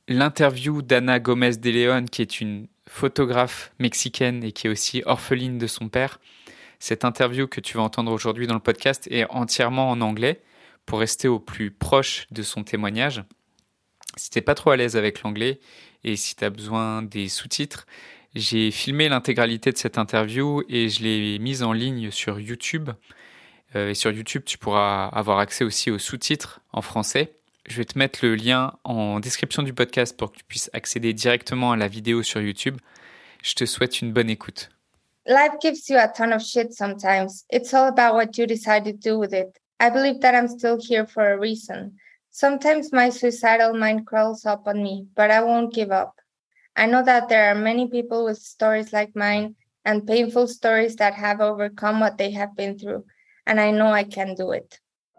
l'interview d'Ana Gomez de Leon, qui est une photographe mexicaine et qui est aussi orpheline de son père. Cette interview que tu vas entendre aujourd'hui dans le podcast est entièrement en anglais pour rester au plus proche de son témoignage. Si t'es pas trop à l'aise avec l'anglais et si tu as besoin des sous-titres, j'ai filmé l'intégralité de cette interview et je l'ai mise en ligne sur YouTube. Et sur YouTube, tu pourras avoir accès aussi aux sous-titres en français. Je vais te mettre le lien en description du podcast pour que tu puisses accéder directement à la vidéo sur YouTube. Je te souhaite une bonne écoute. Life gives you a ton of shit sometimes. It's all about what you decide to do with it. I believe that I'm still here for a reason. Sometimes my suicidal mind crawls up on me, but I won't give up. I know that there are many people with stories like mine and painful stories that have overcome what they have been through, and I know I can do it.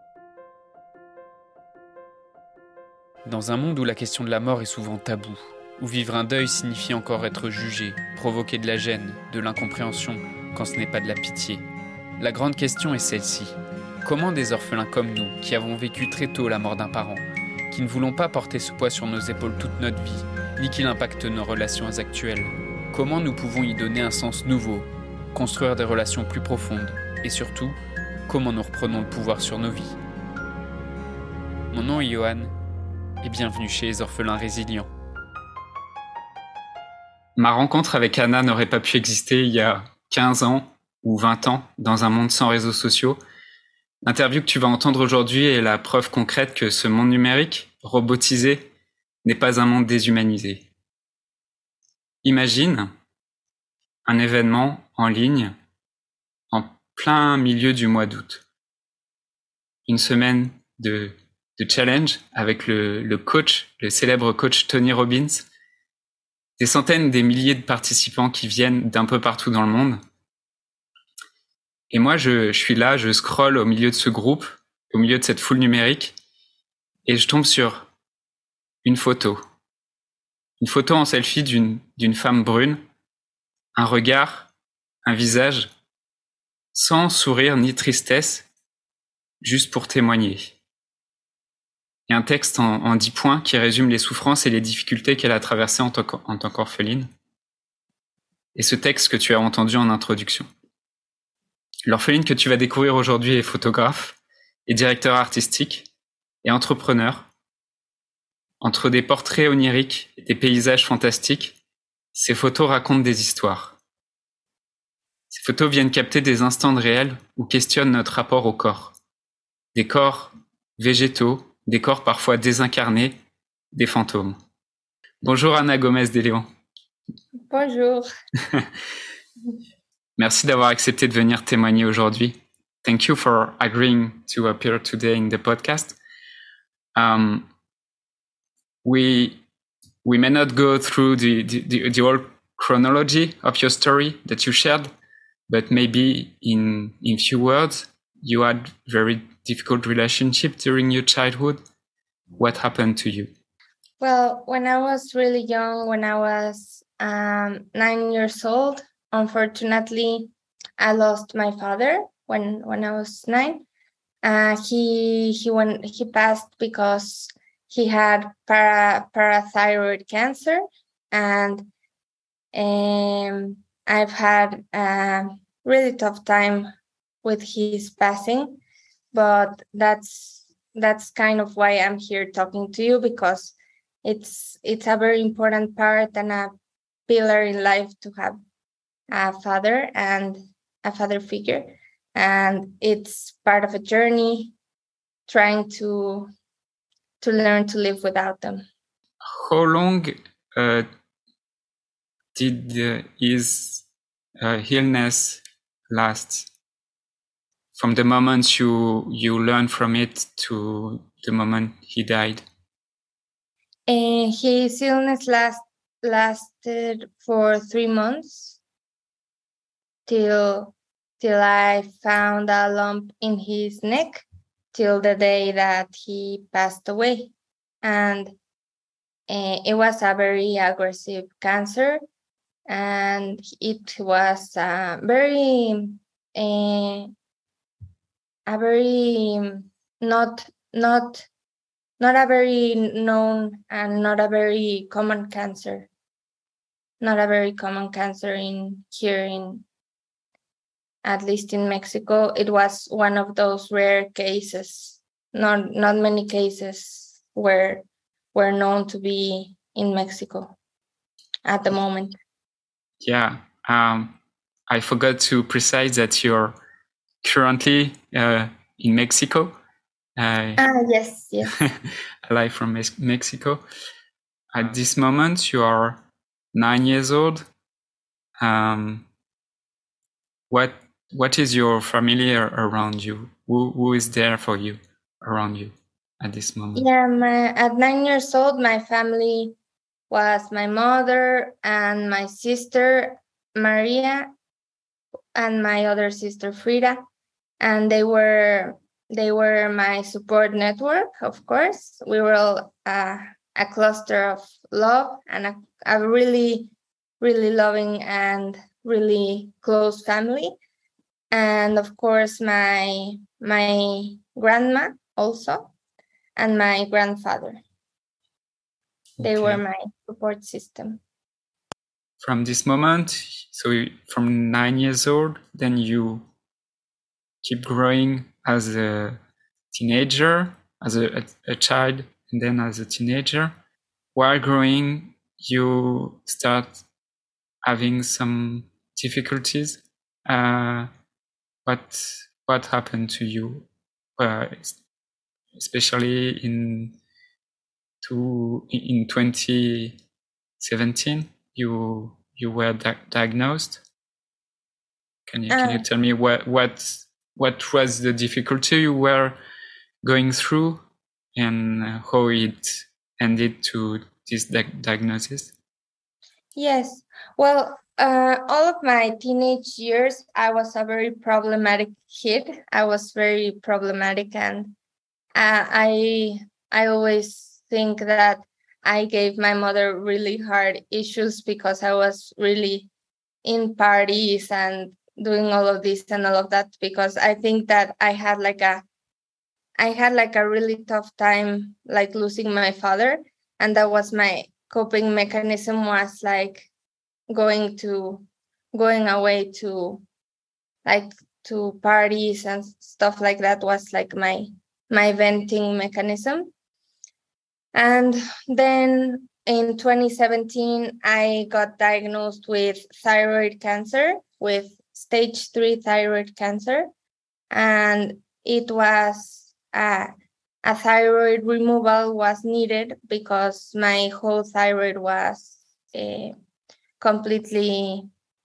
Dans un monde où la question de la mort est souvent taboue, où vivre un deuil signifie encore être jugé, provoquer de la gêne, de l'incompréhension, quand ce n'est pas de la pitié. La grande question est celle-ci. Comment des orphelins comme nous, qui avons vécu très tôt la mort d'un parent, qui ne voulons pas porter ce poids sur nos épaules toute notre vie, ni qu'il impacte nos relations actuelles, comment nous pouvons y donner un sens nouveau, construire des relations plus profondes, et surtout, comment nous reprenons le pouvoir sur nos vies. Mon nom est Johan, et bienvenue chez les orphelins résilients. Ma rencontre avec Anna n'aurait pas pu exister il y a 15 ans ou 20 ans dans un monde sans réseaux sociaux. L'interview que tu vas entendre aujourd'hui est la preuve concrète que ce monde numérique, robotisé, n'est pas un monde déshumanisé. Imagine un événement en ligne en plein milieu du mois d'août. Une semaine de challenge avec le coach, le célèbre coach Tony Robbins. Des centaines, des milliers de participants qui viennent d'un peu partout dans le monde. Et moi, je suis là, je scrolle au milieu de ce groupe, au milieu de cette foule numérique, et je tombe sur une photo. Une photo en selfie d'une femme brune, un regard, un visage, sans sourire ni tristesse, juste pour témoigner. Et un texte en 10 points qui résume les souffrances et les difficultés qu'elle a traversées en tant qu'orpheline. Et ce texte que tu as entendu en introduction. L'orpheline que tu vas découvrir aujourd'hui est photographe et directeur artistique et entrepreneur. Entre des portraits oniriques et des paysages fantastiques, ces photos racontent des histoires. Ces photos viennent capter des instants de réel ou questionnent notre rapport au corps. Des corps végétaux, des corps parfois désincarnés, des fantômes. Bonjour Ana Gomez de Leon. Bonjour. Merci d'avoir accepté de venir témoigner aujourd'hui. Thank you for agreeing to appear today in the podcast. We may not go through the whole chronology of your story that you shared, but maybe in few words, you had very difficult relationship during your childhood. What happened to you? Well, when I was really young, when I was 9 years old, unfortunately, I lost my father when I was 9. He passed because he had parathyroid cancer, and I've had a really tough time with his passing, but that's kind of why I'm here talking to you, because it's a very important part and a pillar in life to have a father and a father figure, and it's part of a journey trying to learn to live without them. How long did his illness last? From the moment you learned from it to the moment he died? His illness lasted for 3 months till I found a lump in his neck, till the day that he passed away. And it was a very aggressive cancer, and it was a very not not a very known and not a very common cancer. Not a very common cancer at least in Mexico. It was one of those rare cases. Not many cases were known to be in Mexico at the moment. Yeah. I forgot to precise that you're currently in Mexico. Yes. Alive from Mexico. At this moment, you are 9 years old. What is your family around you? Who is there for you around you at this moment? Yeah, at 9 years old, my family was my mother and my sister Maria and my other sister Frida, and they were my support network. Of course, we were all a cluster of love and a really, really loving and really close family. And of course, my grandma also, and my grandfather. They were my support system. From this moment, so from 9 years old, then you keep growing as a teenager, as a child, and then as a teenager. While growing, you start having some difficulties. What happened to you, especially in 2017? You were diagnosed. Can you tell me what was the difficulty you were going through and how it ended to this diagnosis? Yes. Well, all of my teenage years, I was a very problematic kid. I was very problematic, and I always think that I gave my mother really hard issues because I was really in parties and doing all of this and all of that, because I think that I had like a really tough time, like losing my father, and that was my coping mechanism, was like going away to parties and stuff like that, was like my venting mechanism. And then in 2017, I got diagnosed with thyroid cancer, with stage 3 thyroid cancer. And it was a thyroid removal was needed because my whole thyroid was completely,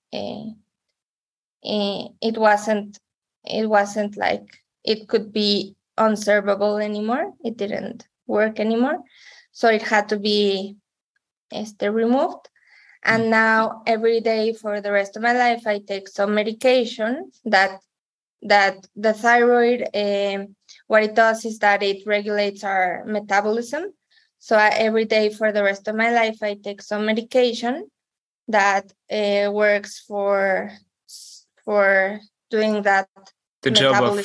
it wasn't like it could be unservable anymore. It didn't work anymore. So it had to be removed. And now every day for the rest of my life, I take some medication that the thyroid, what it does is that it regulates our metabolism. So every day for the rest of my life, I take some medication that works for doing that, the job of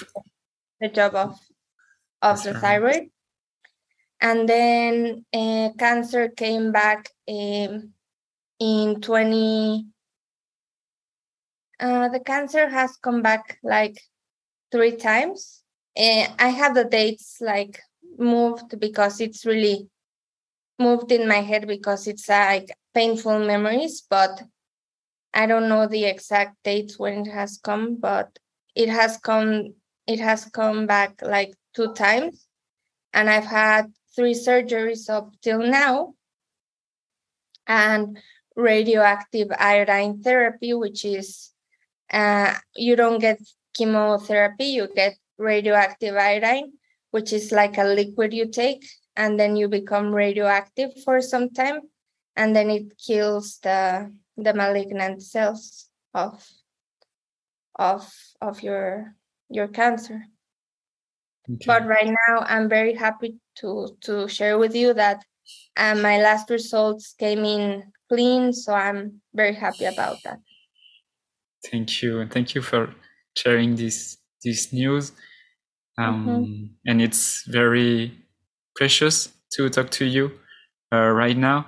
the thyroid. And then cancer came back in 20. The cancer has come back like 3 times. I have the dates like moved because it's really moved in my head because it's like painful memories, but I don't know the exact dates when it has come, but it has come back like 2 times. And I've had 3 surgeries up till now, and radioactive iodine therapy, which is you don't get chemotherapy, you get radioactive iodine, which is like a liquid you take, and then you become radioactive for some time, and then it kills the malignant cells of your cancer. Okay. But right now, I'm very happy to share with you that my last results came in clean, so I'm very happy about that. Thank you for sharing this news. And it's very precious to talk to you right now.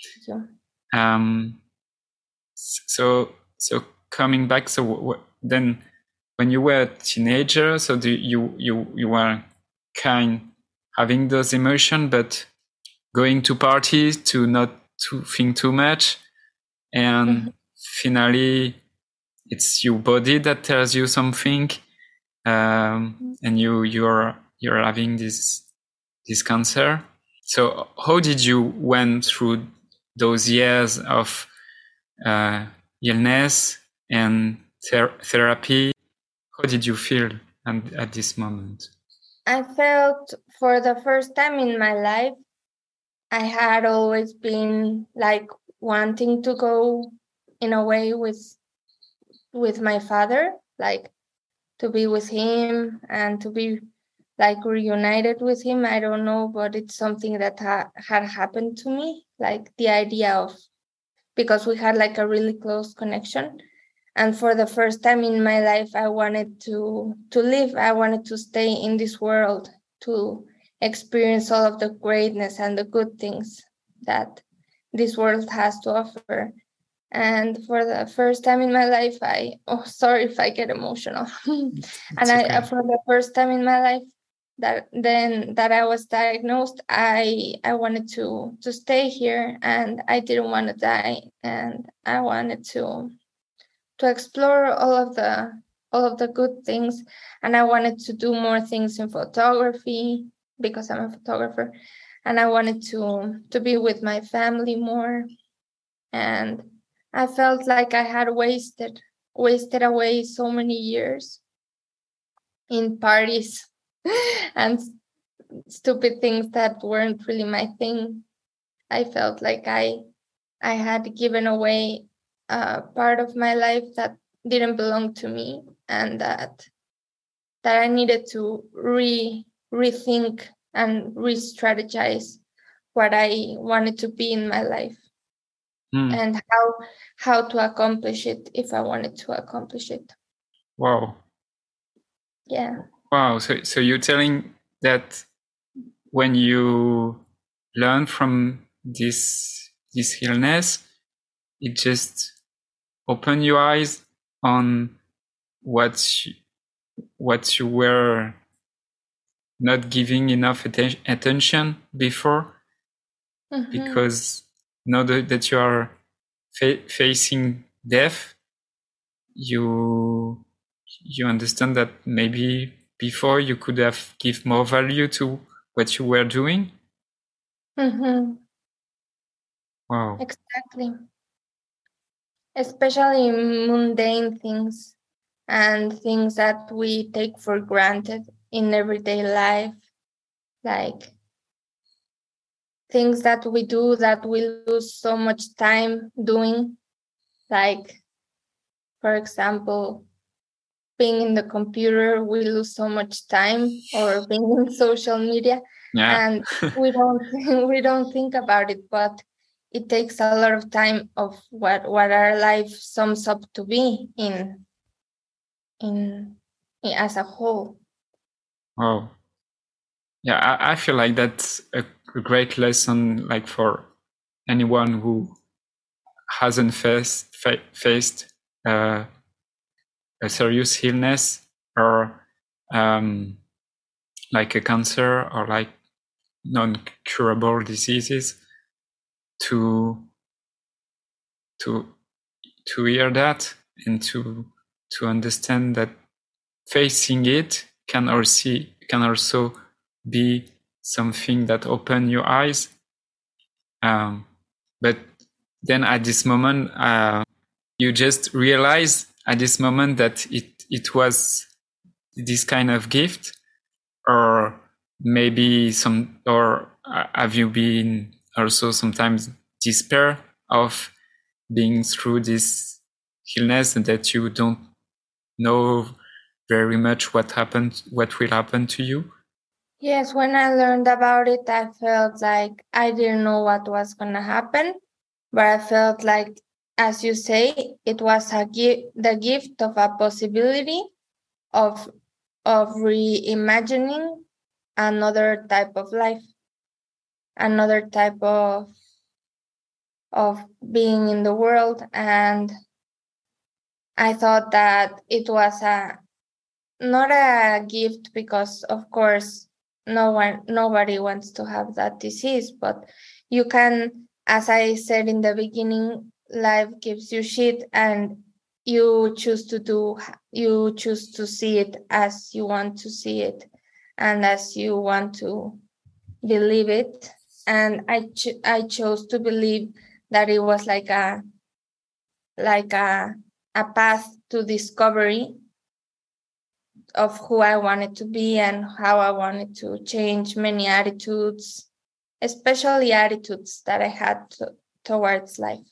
So coming back, then when you were a teenager, so you were kind having those emotions, but going to parties to not to think too much, and finally it's your body that tells you something, and you're having this cancer. So how did you went through those years of illness and therapy? How did you feel at this moment? I felt for the first time in my life, I had always been like wanting to go in a way with my father, like to be with him and to be like reunited with him. I don't know, but it's something that had happened to me, like the idea of, because we had like a really close connection. And for the first time in my life, I wanted to live. I wanted to stay in this world, to experience all of the greatness and the good things that this world has to offer. And for the first time in my life, sorry if I get emotional. And for the first time in my life that I was diagnosed, I wanted to stay here, and I didn't want to die, and I wanted to explore all of the good things, and I wanted to do more things in photography because I'm a photographer, and I wanted to be with my family more. And I felt like I had wasted away so many years in parties and stupid things that weren't really my thing. I felt like I had given away part of my life that didn't belong to me, and that I needed to rethink and re-strategize what I wanted to be in my life, and how to accomplish it if I wanted to accomplish it. Wow. Yeah. Wow. So you're telling that when you learn from this illness, it just open your eyes on what you were not giving enough attention before, because now that you are facing death, you understand that maybe before you could have give more value to what you were doing. Wow. Exactly. Especially mundane things and things that we take for granted in everyday life, like things that we do that we lose so much time doing, like, for example, being in the computer, we lose so much time, or being in social media, and we don't think about it, but it takes a lot of time of what our life sums up to be in as a whole. Oh, yeah, I feel like that's a great lesson, like for anyone who hasn't faced a serious illness, or like a cancer, or like non-curable diseases, to hear that, and to understand that facing it can also be something that open your eyes. But then at this moment, you just realize at this moment that it was this kind of gift, or maybe or have you been also sometimes despair of being through this illness, and that you don't know very much what will happen to you? Yes, when I learned about it, I felt like I didn't know what was going to happen, but I felt like, as you say, it was the gift of a possibility of reimagining another type of life. another type of being in the world. And I thought that it was not a gift, because of course nobody wants to have that disease, but you can, as I said in the beginning, life gives you shit, and you choose to see it as you want to see it and as you want to believe it. And I chose to believe that it was like a path to discovery of who I wanted to be and how I wanted to change many attitudes, especially attitudes that I had towards life.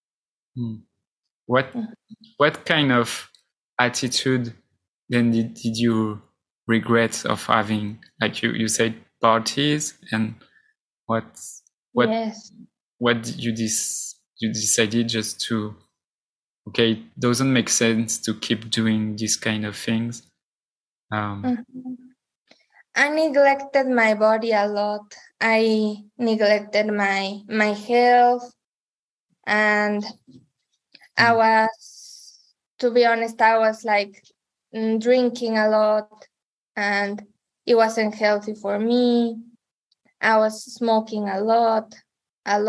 What kind of attitude then did you regret of having? Like you said, parties, and what Yes. What did you decided just to, okay, it doesn't make sense to keep doing these kind of things. I neglected my body a lot. I neglected my health, and I was, to be honest, I was like drinking a lot, and it wasn't healthy for me. I was smoking a lot, and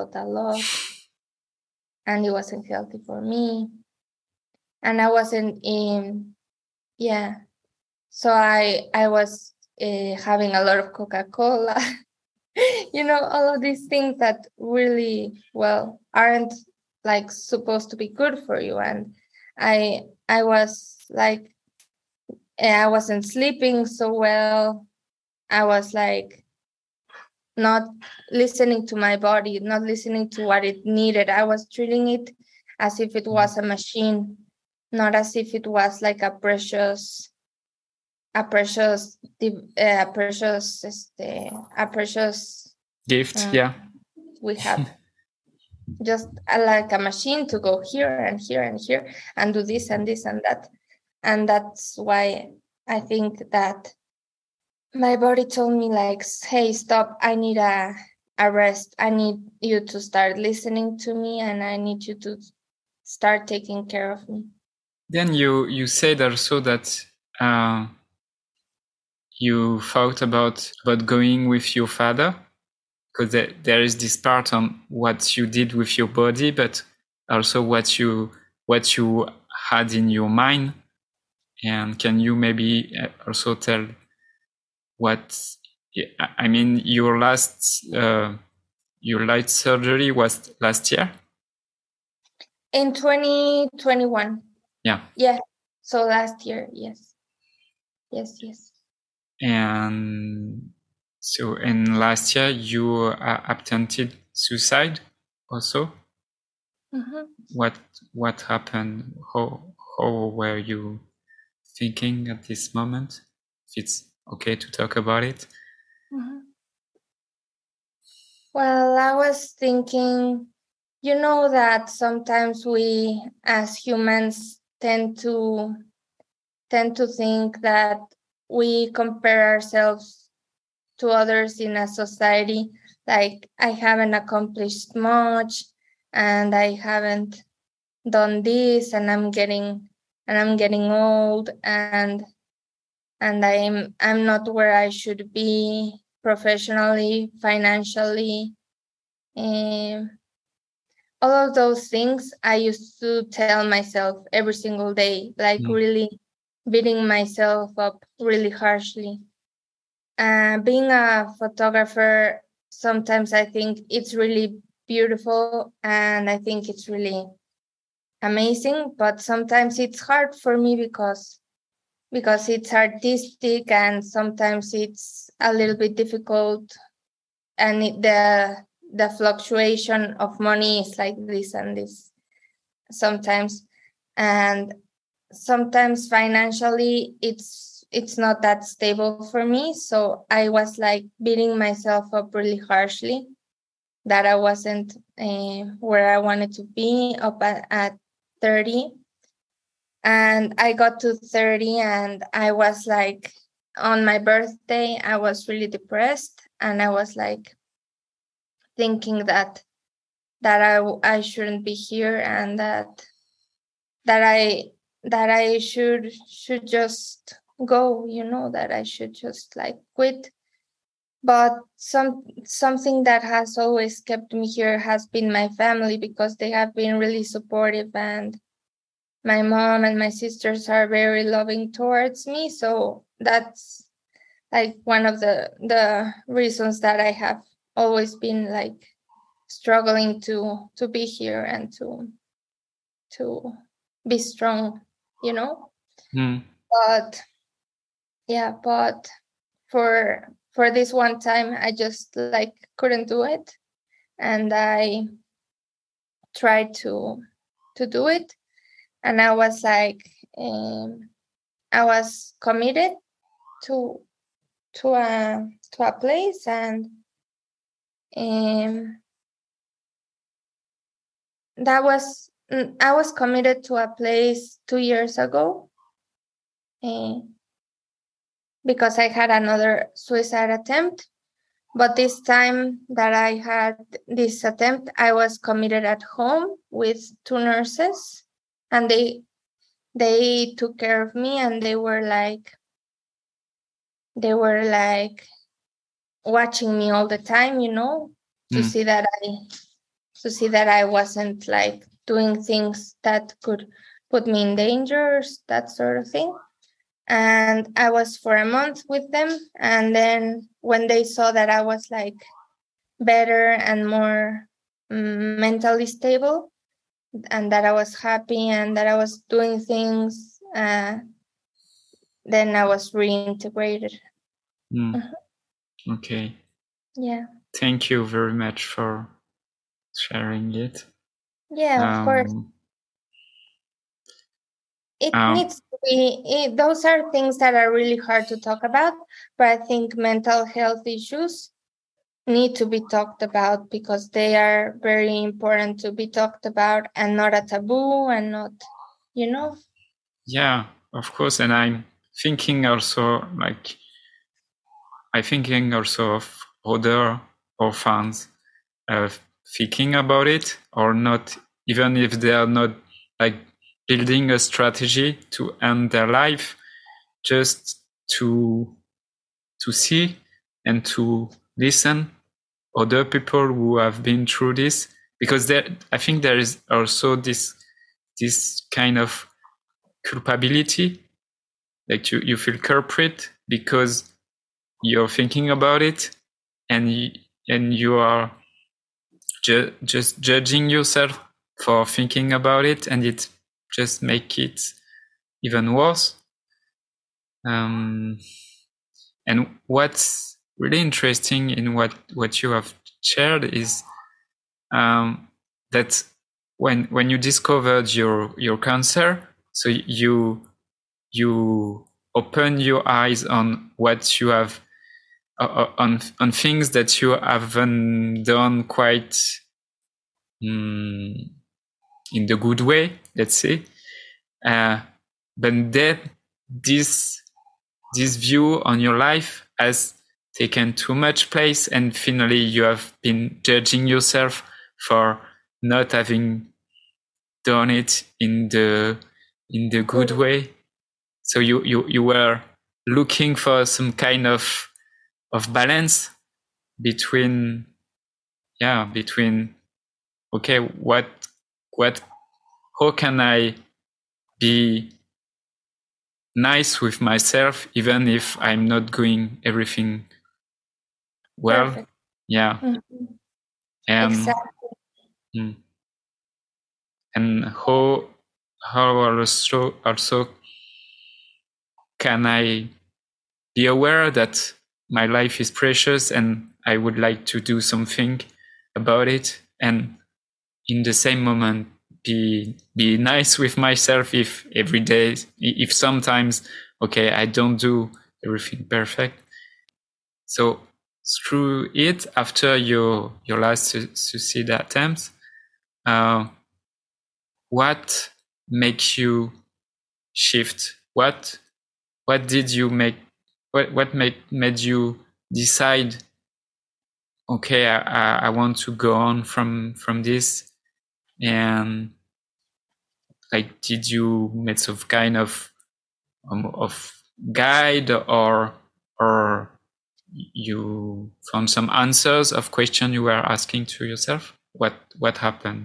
it wasn't healthy for me. And I wasn't so I was having a lot of Coca-Cola. All of these things that really, aren't like supposed to be good for you. And I was like, I wasn't sleeping so well. I was like not listening to my body, not listening to what it needed. I was treating it as if it was a machine, not as if it was like a precious gift. We have just like a machine to go here and here and here and do this and this and that. And that's why I think that my body told me, like, hey, stop, I need a rest. I need you to start listening to me, and I need you to start taking care of me. Then you said also that you thought about going with your father, because there is this part on what you did with your body, but also what you had in your mind. And can you maybe also tell what, I mean, your light surgery was last year? In 2021. Yeah. So last year, yes. And so in last year you attempted suicide also. What happened? How were you thinking at this moment? If it's okay to talk about it. Well, I was thinking, that sometimes we as humans tend to think that we compare ourselves to others in a society. Like, I haven't accomplished much, and I haven't done this, and I'm getting old, and I'm not where I should be professionally, financially. All of those things I used to tell myself every single day, like really beating myself up really harshly. Being a photographer, sometimes I think it's really beautiful and I think it's really amazing, but sometimes it's hard for me because it's artistic, and sometimes it's a little bit difficult, and the fluctuation of money is like this and this sometimes, and sometimes financially it's not that stable for me. So I was like beating myself up really harshly that I wasn't where I wanted to be up at 30. And I got to 30 and I was like, on my birthday, I was really depressed, and I was like, thinking that I shouldn't be here, and that I should just go, that I should just like quit. But something that has always kept me here has been my family, because they have been really supportive, and my mom and my sisters are very loving towards me. So that's like one of the reasons that I have always been like struggling to be here and to be strong, But yeah, but for this one time, I just like couldn't do it, and I tried to do it, and I was like, I was committed to a place, and that was I was committed to a place 2 years ago, because I had another suicide attempt. But this time that I had this attempt, I was committed at home with 2 nurses, and they took care of me, and they were like watching me all the time, to see that I wasn't like doing things that could put me in danger, that sort of thing. And I was for a month with them, and then when they saw that I was like better and more mentally stable, and that I was happy and that I was doing things, then I was reintegrated. Okay. Yeah. Thank you very much for sharing it. Yeah, of course. It needs to be, those are things that are really hard to talk about, but I think mental health issues need to be talked about, because they are very important to be talked about, and not a taboo, and not, Yeah, of course. And I'm thinking also of other orphans thinking about it, or not, even if they are not like building a strategy to end their life, just to see and to listen other people who have been through this, because I think there is also this kind of culpability, like you feel culprit because you're thinking about it, and you are just judging yourself for thinking about it, and it just make it even worse. And what's really interesting in what you have shared is that when you discovered your cancer, so you open your eyes on what you have on things that you haven't done quite in the good way, let's say. But then this view on your life has taken too much place, and finally you have been judging yourself for not having done it in the good way. So you were looking for some kind of balance between okay, how can I be nice with myself even if I'm not doing everything well? Perfect. Yeah. Exactly. And how also can I be aware that my life is precious and I would like to do something about it, and in the same moment be nice with myself if every day, if sometimes, okay, I don't do everything perfect. So through it, after your last suicide attempt, what makes you shift? What did you make? What made you decide? okay, I want to go on from this, and like, did you make some kind of guide, or you found some answers of questions you were asking to yourself? What happened?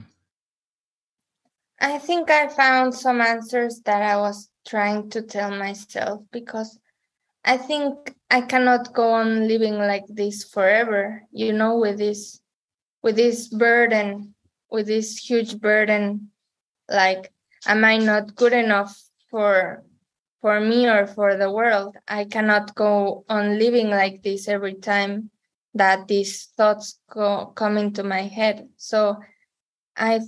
I think I found some answers that I was trying to tell myself, because I think I cannot go on living like this forever, with this burden, with this huge burden. Like, am I not good enough for me or for the world? I cannot go on living like this every time that these thoughts come into my head. So I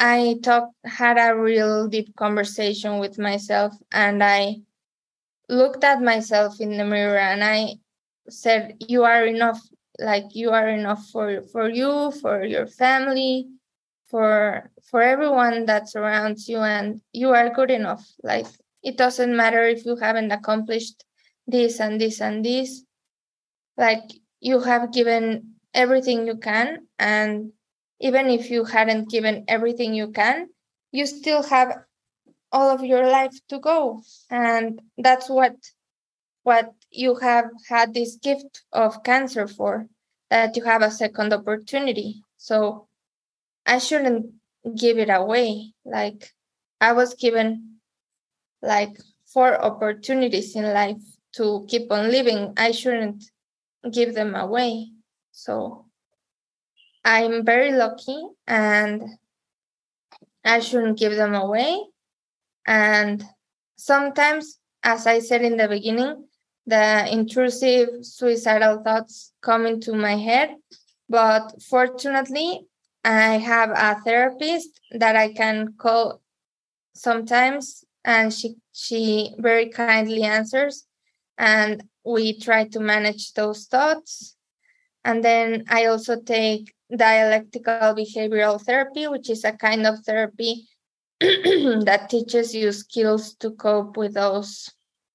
had a real deep conversation with myself, and I looked at myself in the mirror and I said, you are enough. Like, you are enough for you, for your family, for everyone that surrounds you, and you are good enough. Like, it doesn't matter if you haven't accomplished this and this and this. Like, you have given everything you can, and even if you hadn't given everything you can, you still have all of your life to go. And that's what you have had this gift of cancer for, that you have a second opportunity. So I shouldn't give it away. Like, I was given like 4 opportunities in life to keep on living. I shouldn't give them away. So I'm very lucky, and I shouldn't give them away. And sometimes, as I said in the beginning, the intrusive suicidal thoughts come into my head. But fortunately, I have a therapist that I can call sometimes, and she very kindly answers, and we try to manage those thoughts. And then I also take dialectical behavioral therapy, which is a kind of therapy that teaches you skills to cope with those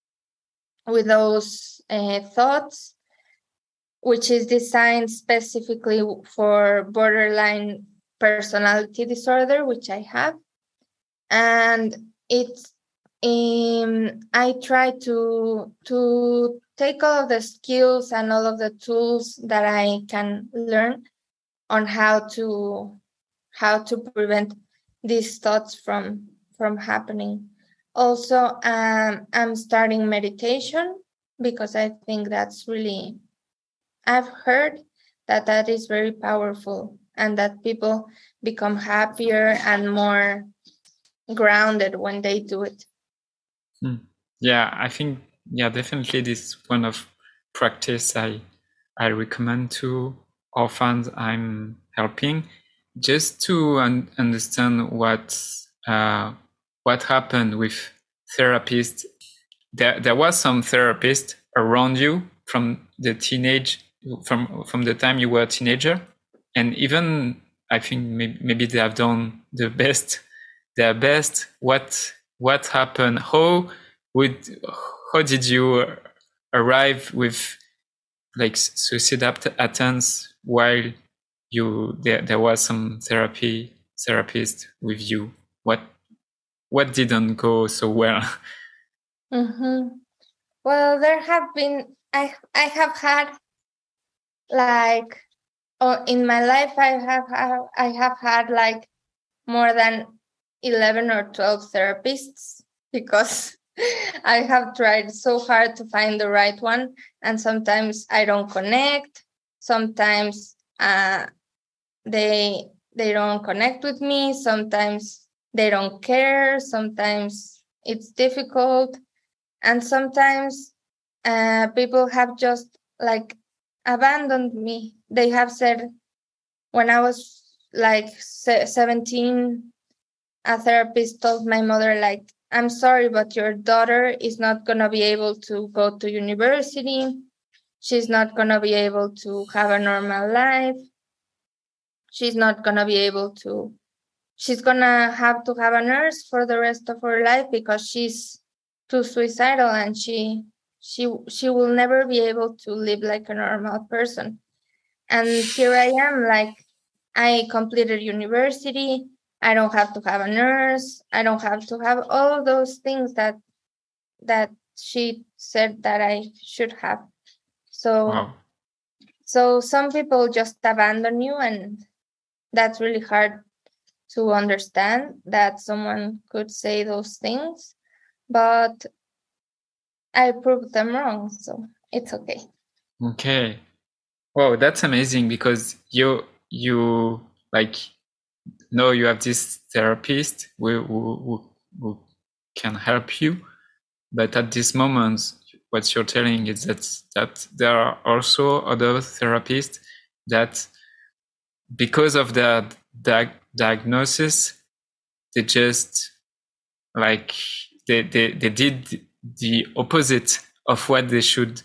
thoughts, which is designed specifically for borderline personality disorder, which I have. And it's I try to take all of the skills and all of the tools that I can learn on how to prevent these thoughts from happening. Also, I'm starting meditation, because I think that's really, I've heard that is very powerful, and that people become happier and more grounded when they do it. Yeah, I think, definitely this one of practice I recommend to orphans I'm helping, just to understand what happened with therapists. There was some therapist around you from the time you were a teenager, and even I think maybe they have done their best. What happened? How did you arrive with like suicide attempts while there was some therapist with you? What didn't go so well? Mm-hmm. Well, there have been, I have had, like, in my life, I have had like more than 11 or 12 therapists, because I have tried so hard to find the right one, and sometimes I don't connect. Sometimes they don't connect with me. Sometimes they don't care. Sometimes it's difficult, and sometimes people have just like abandoned me. They have said, when I was like 17, a therapist told my mother, like, I'm sorry, but your daughter is not going to be able to go to university. She's not going to be able to have a normal life. She's not going to be able to, she's going to have a nurse for the rest of her life, because she's too suicidal, and she will never be able to live like a normal person. And here I am, like, I completed university. I don't have to have a nurse. I don't have to have all those things that she said that I should have. So, Wow. so some people just abandon you, and that's really hard to understand that someone could say those things. But I proved them wrong, so it's okay. Okay. Wow, that's amazing because you like know you have this therapist who can help you, but at this moment, what you're telling is that there are also other therapists that, because of the diagnosis, they just like they did the opposite of what they should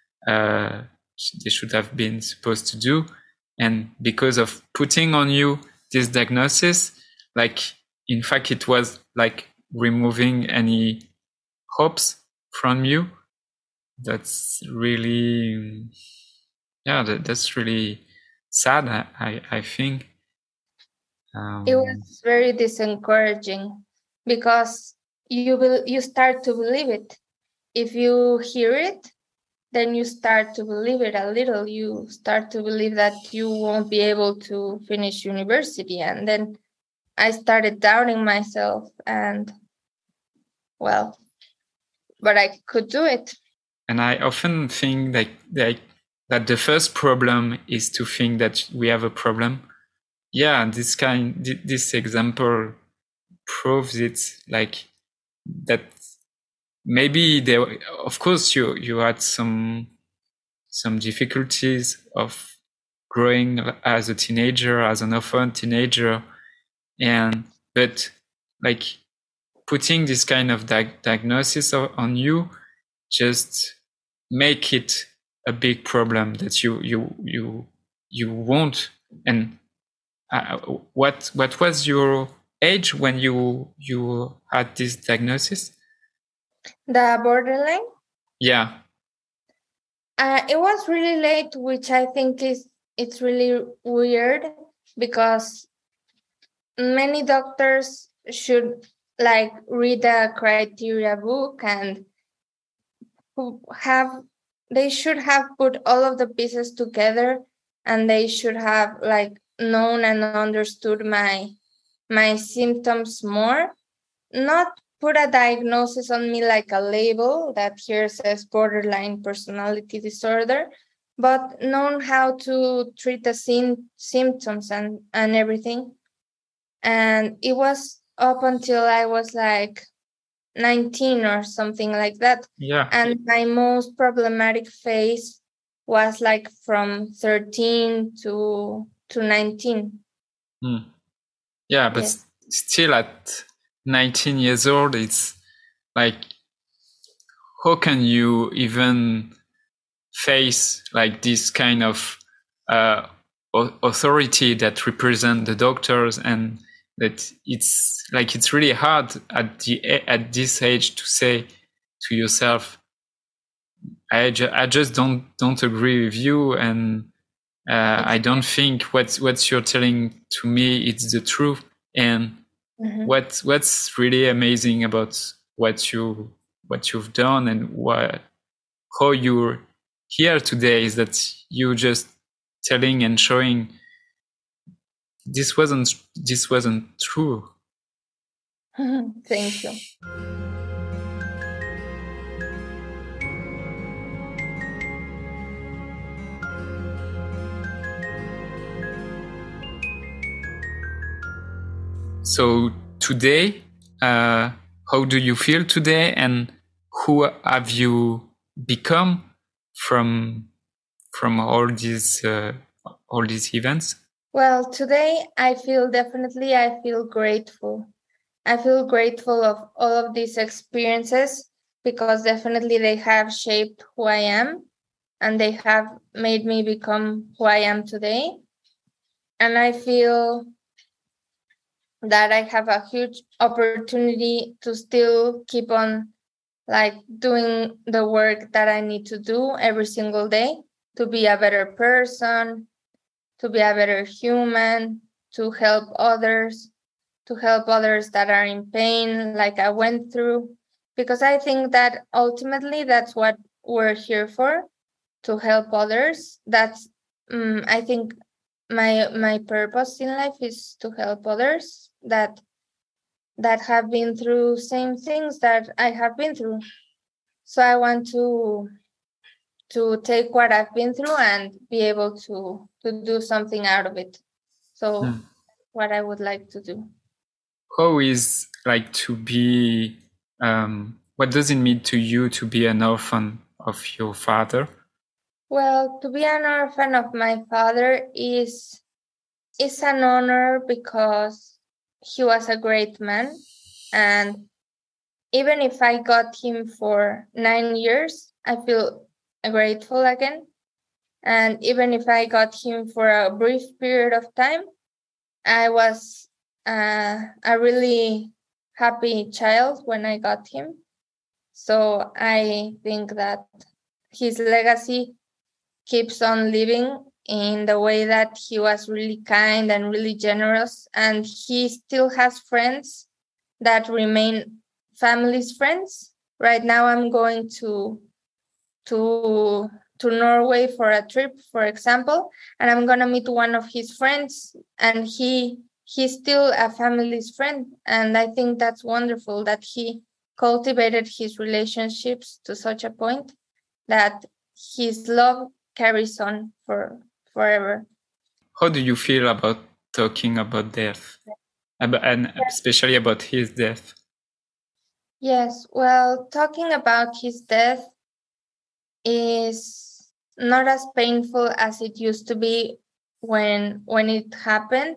have been supposed to do, and because of putting on you this diagnosis, like in fact it was like removing any hopes from you. That's really, yeah, that's really sad. I think It was very disencouraging because you start to believe it. If you hear it, then you start to believe it a little. You start to believe that you won't be able to finish university. And then I started doubting myself, and well, but I could do it. And I often think that the first problem is to think that we have a problem. Yeah, this example proves it, like that. Maybe there, of course, you had some difficulties of growing as a teenager, as an orphan teenager, but like putting this kind of diagnosis on you just make it a big problem that you won't. And what was your age when you had this diagnosis? The borderline? Yeah. It was really late, which I think it's really weird because many doctors should like read the criteria book and they should have put all of the pieces together, and they should have like known and understood my symptoms more, not put a diagnosis on me like a label that here says borderline personality disorder, but known how to treat the symptoms and everything. And it was up until I was like 19 or something like that. Yeah. And my most problematic phase was like from 13 to 19. Yeah, but yes. Still at 19 years old, it's like, how can you even face like this kind of authority that represent the doctors, and that it's like it's really hard at this age to say to yourself, I just don't agree with you, and I don't think what you're telling to me it's the truth. And what's really amazing about what you've done and how you're here today is that you just telling and showing this wasn't true. Thank you. So today, how do you feel today, and who have you become from all these events? Well, today I feel grateful. I feel grateful of all of these experiences because definitely they have shaped who I am, and they have made me become who I am today. And I feel that I have a huge opportunity to still keep on like doing the work that I need to do every single day to be a better person, to be a better human, to help others that are in pain, like I went through. Because I think that ultimately that's what we're here for, to help others. That's I think my purpose in life is to help others that have been through same things that I have been through. So I want to take what I've been through and be able to do something out of it. So what I would like to do. How is like to be, what does it mean to you to be an orphan of your father? Well, to be an orphan of my father is an honor because he was a great man. And even if I got him for 9 years, I feel grateful again. And even if I got him for a brief period of time, I was a really happy child when I got him. So I think that his legacy keeps on living in the way that he was really kind and really generous. And he still has friends that remain family's friends. Right now I'm going to Norway for a trip, for example, and I'm gonna meet one of his friends, and he's still a family's friend. And I think that's wonderful that he cultivated his relationships to such a point that his love carries on forever. How do you feel about talking about death, and especially about his death? Yes, well, talking about his death is not as painful as it used to be when it happened.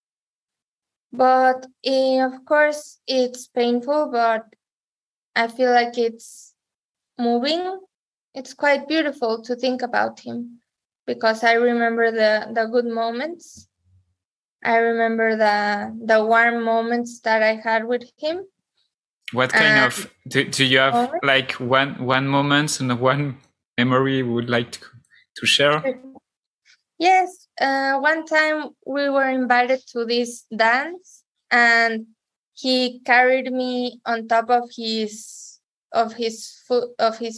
But of course, it's painful, but I feel like it's moving. It's quite beautiful to think about him because I remember the good moments. I remember the warm moments that I had with him. What kind of do you have like one moment and one memory you would like to share? Yes, one time we were invited to this dance, and he carried me on top of his foot.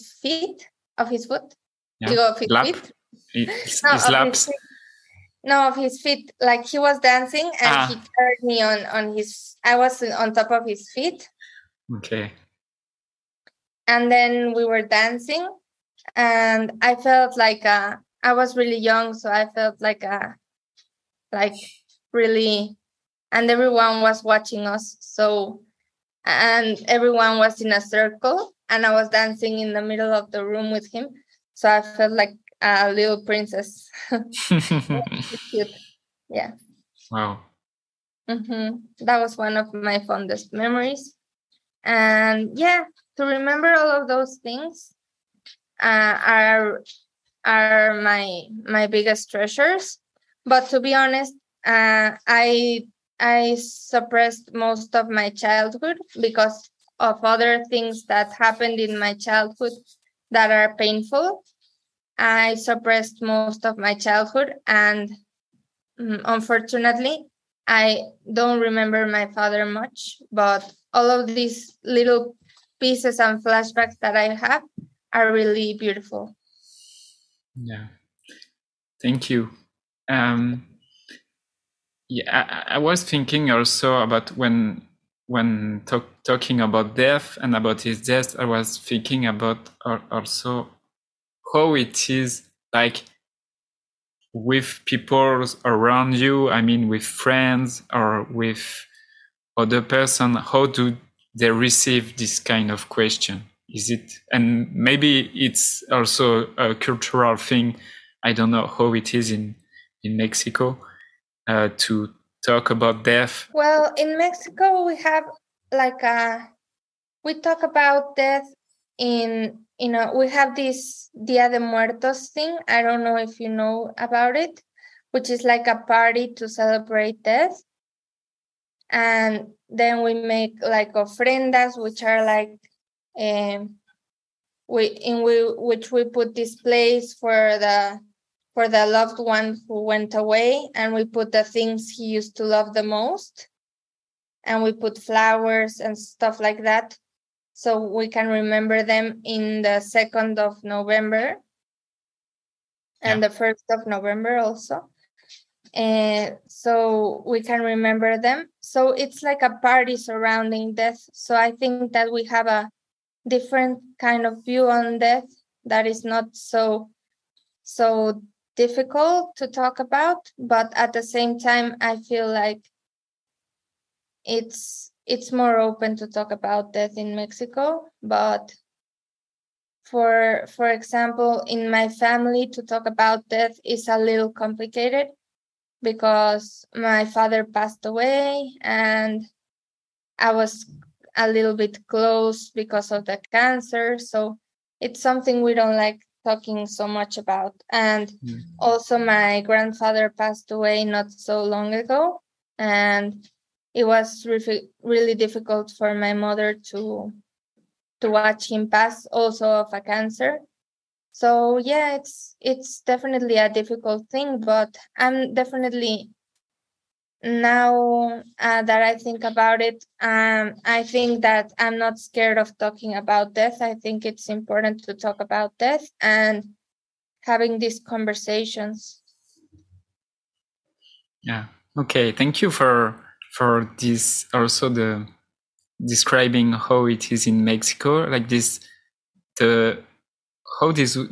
Yeah. Of his Lap. feet. His laps. No, of his feet. Like he was dancing, and he carried me on his. I was on top of his feet. Okay. And then we were dancing, and I felt like I was really young, so I felt like really, and everyone was watching us. So, and everyone was in a circle, and I was dancing in the middle of the room with him. So I felt like a little princess. Cute. Yeah. Wow. That was one of my fondest memories. And yeah, to remember all of those things are my biggest treasures. But to be honest, I suppressed most of my childhood because of other things that happened in my childhood that are painful. I suppressed most of my childhood, and unfortunately, I don't remember my father much, but all of these little pieces and flashbacks that I have are really beautiful. Yeah. Thank you. Yeah, I was thinking also about when talking about death and about his death, I was thinking about also how it is like with people around you. I mean, with friends or with other person. How do they receive this kind of question? Is it, and maybe it's also a cultural thing. I don't know how it is in Mexico. To talk about death? Well, in Mexico, we have we talk about death we have this Dia de Muertos thing. I don't know if you know about it, which is like a party to celebrate death. And then we make like ofrendas, which are like which we put displays for for the loved one who went away, and we put the things he used to love the most, and we put flowers and stuff like that, so we can remember them in the 2nd of November and the 1st of November also. So we can remember them. So it's like a party surrounding death. So I think that we have a different kind of view on death that is not so difficult to talk about, but at the same time I feel like it's more open to talk about death in Mexico. But for example, in my family, to talk about death is a little complicated because my father passed away and I was a little bit close because of the cancer. So it's something we don't like talking so much about. And also my grandfather passed away not so long ago, and it was really difficult for my mother to watch him pass, also of a cancer. So yeah, it's definitely a difficult thing, but I'm definitely, now that I think about it, I think that I'm not scared of talking about death. I think it's important to talk about death and having these conversations. Yeah. Okay. Thank you for this. Also, the describing how it is in Mexico, like this, how this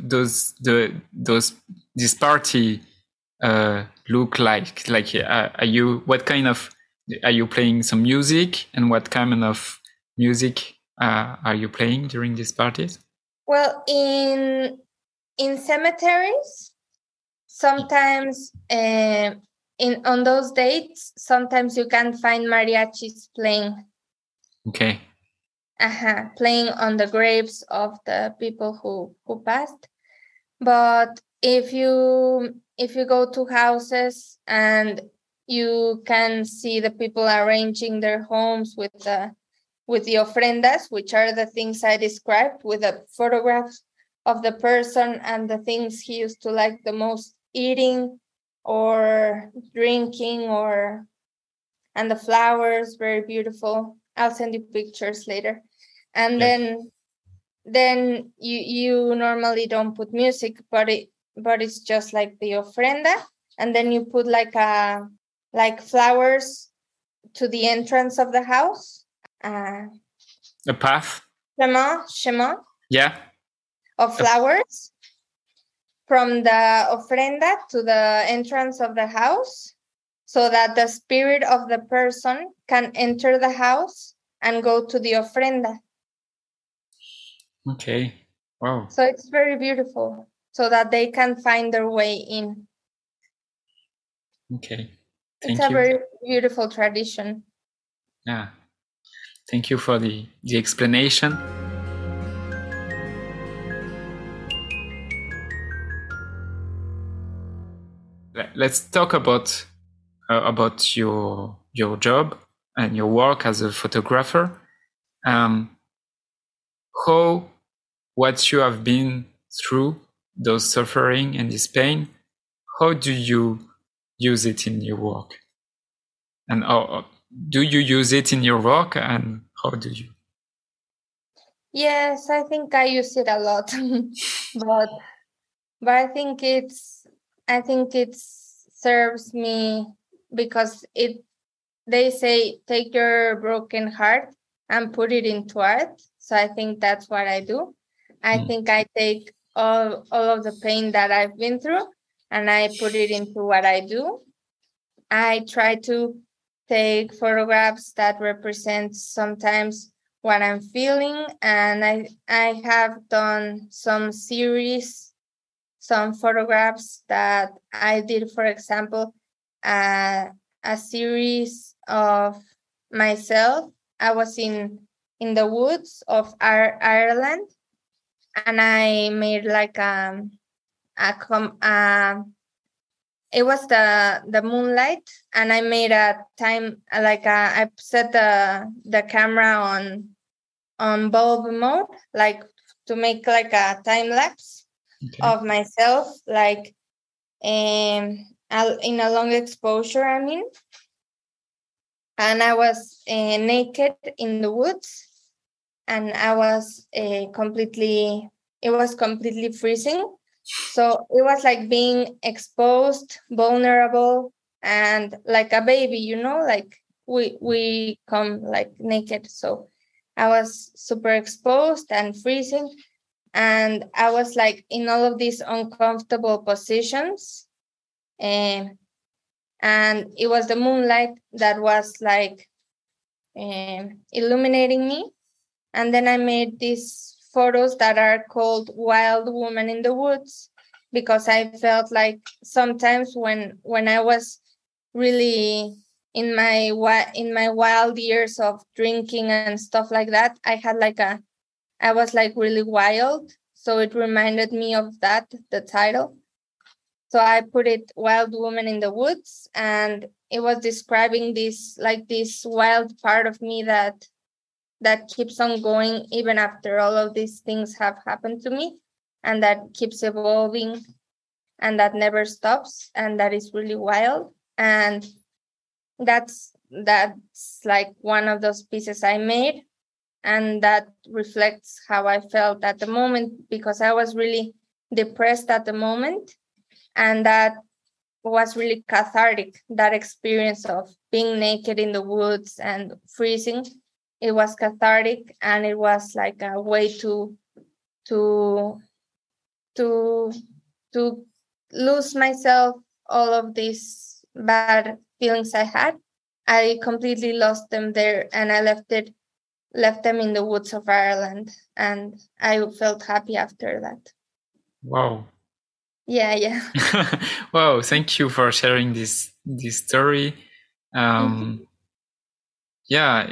party look like. Like, what kind of, are you playing some music, and what kind of music are you playing during these parties? Well, in cemeteries, sometimes on those dates, sometimes you can find mariachis playing. Okay. Playing on the graves of the people who passed. But if you go to houses and you can see the people arranging their homes with the ofrendas, which are the things I described, with the photographs of the person and the things he used to like the most, eating or drinking, and the flowers, very beautiful. I'll send you pictures later. And then you normally don't put music, but it's just like the ofrenda, and then you put like flowers to the entrance of the house. A path. Shema. Yeah. Of flowers from the ofrenda to the entrance of the house, so that the spirit of the person can enter the house and go to the ofrenda. Okay. Wow. So it's very beautiful, so that they can find their way in. Okay. It's a very beautiful tradition. Yeah. Thank you for the explanation. Let's talk about your job and your work as a photographer. What you have been through, those suffering and this pain, how do you use it in your work? And do you use it in your work, and how do you? Yes, I think I use it a lot, but I think it serves me, because they say take your broken heart and put it into art. So I think that's what I do. I think I take all of the pain that I've been through and I put it into what I do. I try to take photographs that represent sometimes what I'm feeling, and I have done some series, some photographs that I did, for example, a series of myself. I was in the woods of Ireland, and I made like it was the moonlight, and I made a time, I set the camera on bulb mode, like to make like a time lapse of myself, like in a long exposure, I mean. And I was naked in the woods, and I was it was completely freezing. So it was like being exposed, vulnerable, and like a baby, like we come like naked. So I was super exposed and freezing, and I was like in all of these uncomfortable positions. And it was the moonlight that was like illuminating me. And then I made these photos that are called Wild Woman in the Woods, because I felt like sometimes when I was really in my wild years of drinking and stuff like that, I was like really wild. So it reminded me of that, the title. So I put it Wild Woman in the Woods, and it was describing this wild part of me that keeps on going even after all of these things have happened to me, and that keeps evolving, and that never stops, and that is really wild. And that's like one of those pieces I made, and that reflects how I felt at the moment, because I was really depressed at the moment, and that was really cathartic. That experience of being naked in the woods and freezing, it was cathartic, and it was like a way to to lose myself, all of these bad feelings I had. I completely lost them there, and I left them in the woods of Ireland, and I felt happy after that. Wow. Yeah. Wow, thank you for sharing this story. Yeah,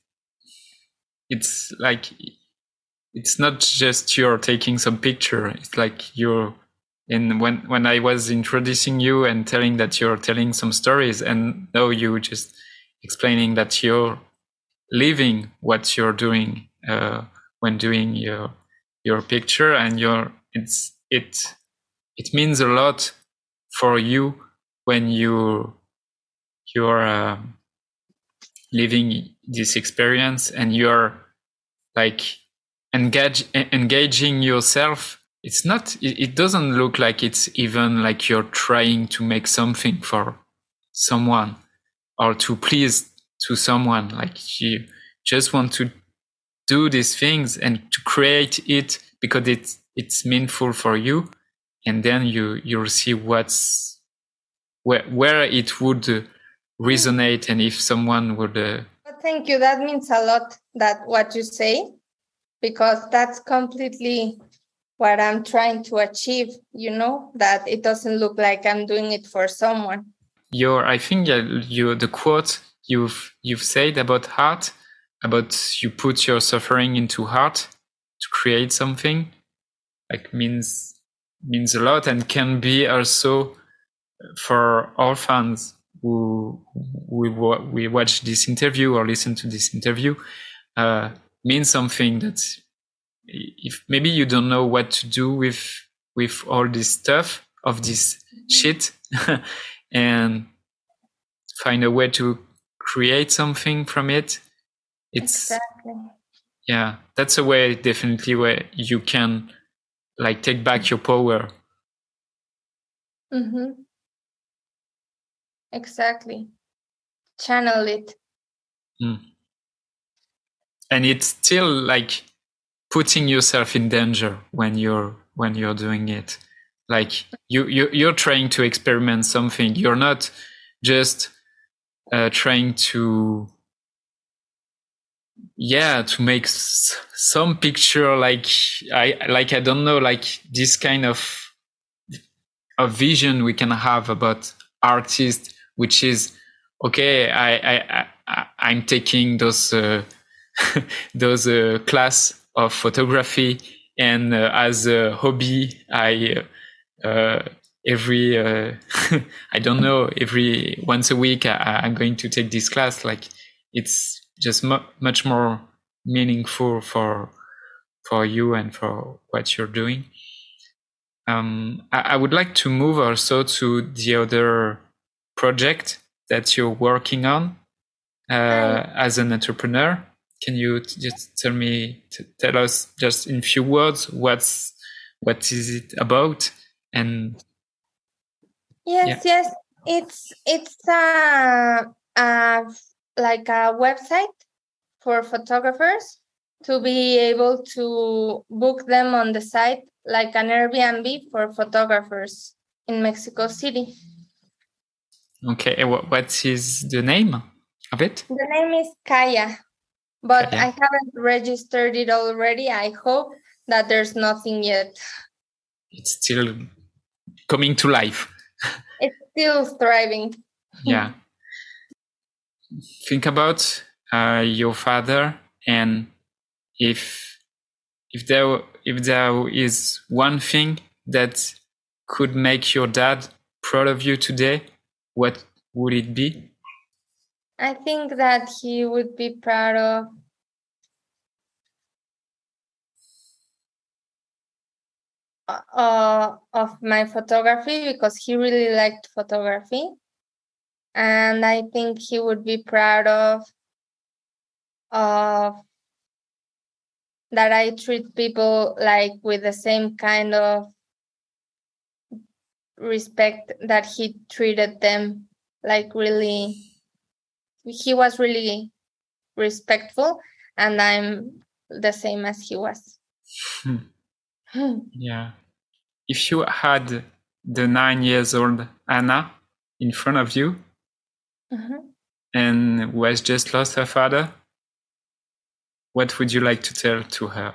it's like, it's not just you're taking some picture. It's like when I was introducing you and telling that you're telling some stories, and now you just explaining that you're living what you're doing when doing your picture, and it means a lot for you when you're living this experience, and you're like engaging yourself. It doesn't look like it's even like you're trying to make something for someone or to please to someone. Like, you just want to do these things and to create it because it's meaningful for you, and then you'll see where it would resonate, and if someone would Thank you. That means a lot, that what you say, because that's completely what I'm trying to achieve, that it doesn't look like I'm doing it for someone. I think the quote you've said about art, about you put your suffering into art to create something, like means a lot, and can be also for all fans who we watch this interview or listen to this interview, means something that if maybe you don't know what to do with all this stuff of this shit and find a way to create something from it. Exactly. Yeah, that's a way, definitely, where you can like take back your power. Exactly. Channel it. And it's still like putting yourself in danger when you're doing it. Like you're trying to experiment something. You're not just trying to make some picture, like I don't know, like this kind of vision we can have about artists, which is okay. I'm taking those class of photography, and as a hobby, I every I don't know, every once a week I'm going to take this class. Like, it's just much more meaningful for you and for what you're doing. I would like to move also to the other project that you're working on as an entrepreneur. Can you just tell us just in few words what is it about? And yes, it's like a website for photographers to be able to book them on the site, like an Airbnb for photographers in Mexico City. Okay, what is the name of it? The name is Kaya, but Kaya. I haven't registered it already. I hope that there's nothing yet. It's still coming to life. It's still thriving. Yeah. Think about your father, and if there is one thing that could make your dad proud of you today, what would it be? I think that he would be proud of my photography, because he really liked photography. And I think he would be proud of that I treat people like with the same kind of respect that he treated them. Like, really, he was really respectful, and I'm the same as he was. Yeah. If you had the 9-year-old Anna in front of you, and who has just lost her father, what would you like to tell to her?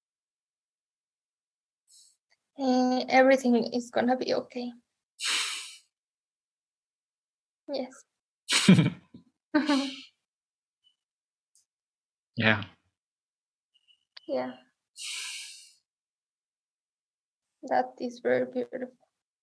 Everything is gonna be okay. Yes. Yeah. Yeah. That is very beautiful.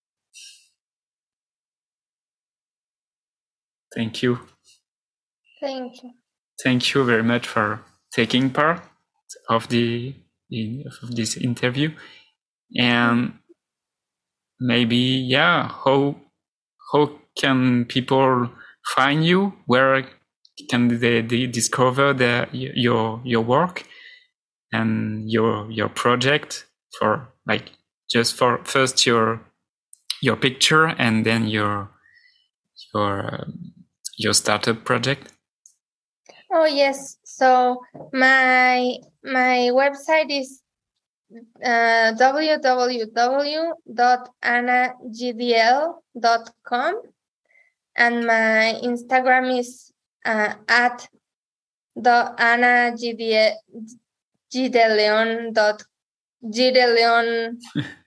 Thank you. Thank you. Thank you very much for taking part of this interview. And maybe, how can people find you? Where can they discover your work and your project, for first your picture and then your startup project? Oh yes. So my website is www.annagdl.com, and my Instagram is at the annagdeleon.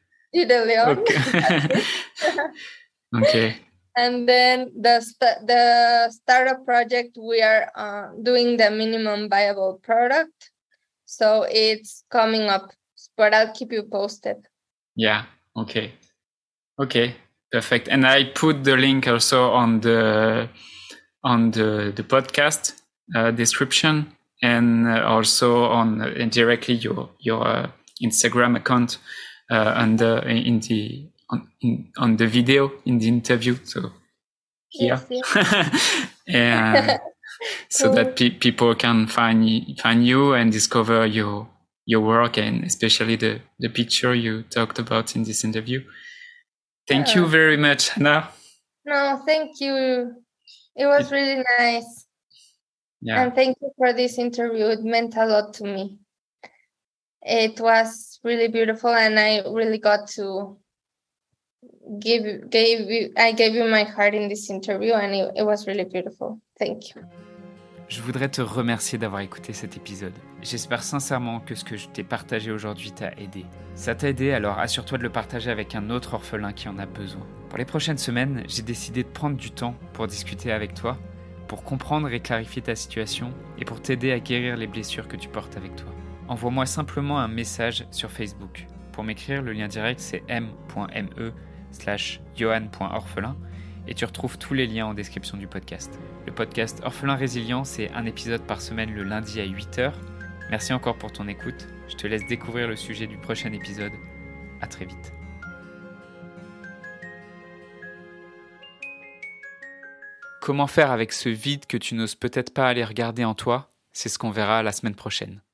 Okay. And then the startup project, we are doing the minimum viable product, so it's coming up, but I'll keep you posted. Yeah. Okay. Perfect. And I put the link also on the podcast description, and also on directly your Instagram account on the video in the interview. So here, yes. And so that people can find you and discover your work, and especially the picture you talked about in this interview. Thank you very much, Anna. No, thank you. It was really nice. Yeah. And thank you for this interview. It meant a lot to me. It was really beautiful, and I really got to gave you my heart in this interview, and it was really beautiful. Thank you. Je voudrais te remercier d'avoir écouté cet épisode. J'espère sincèrement que ce que je t'ai partagé aujourd'hui t'a aidé. Ça t'a aidé, alors assure-toi de le partager avec un autre orphelin qui en a besoin. Pour les prochaines semaines, j'ai décidé de prendre du temps pour discuter avec toi, pour comprendre et clarifier ta situation et pour t'aider à guérir les blessures que tu portes avec toi. Envoie-moi simplement un message sur Facebook. Pour m'écrire, le lien direct c'est m.me/johan.orphelin et tu retrouves tous les liens en description du podcast. Le podcast Orphelin Résilient, c'est un épisode par semaine le lundi à 8h. Merci encore pour ton écoute. Je te laisse découvrir le sujet du prochain épisode. À très vite. Comment faire avec ce vide que tu n'oses peut-être pas aller regarder en toi? C'est ce qu'on verra la semaine prochaine.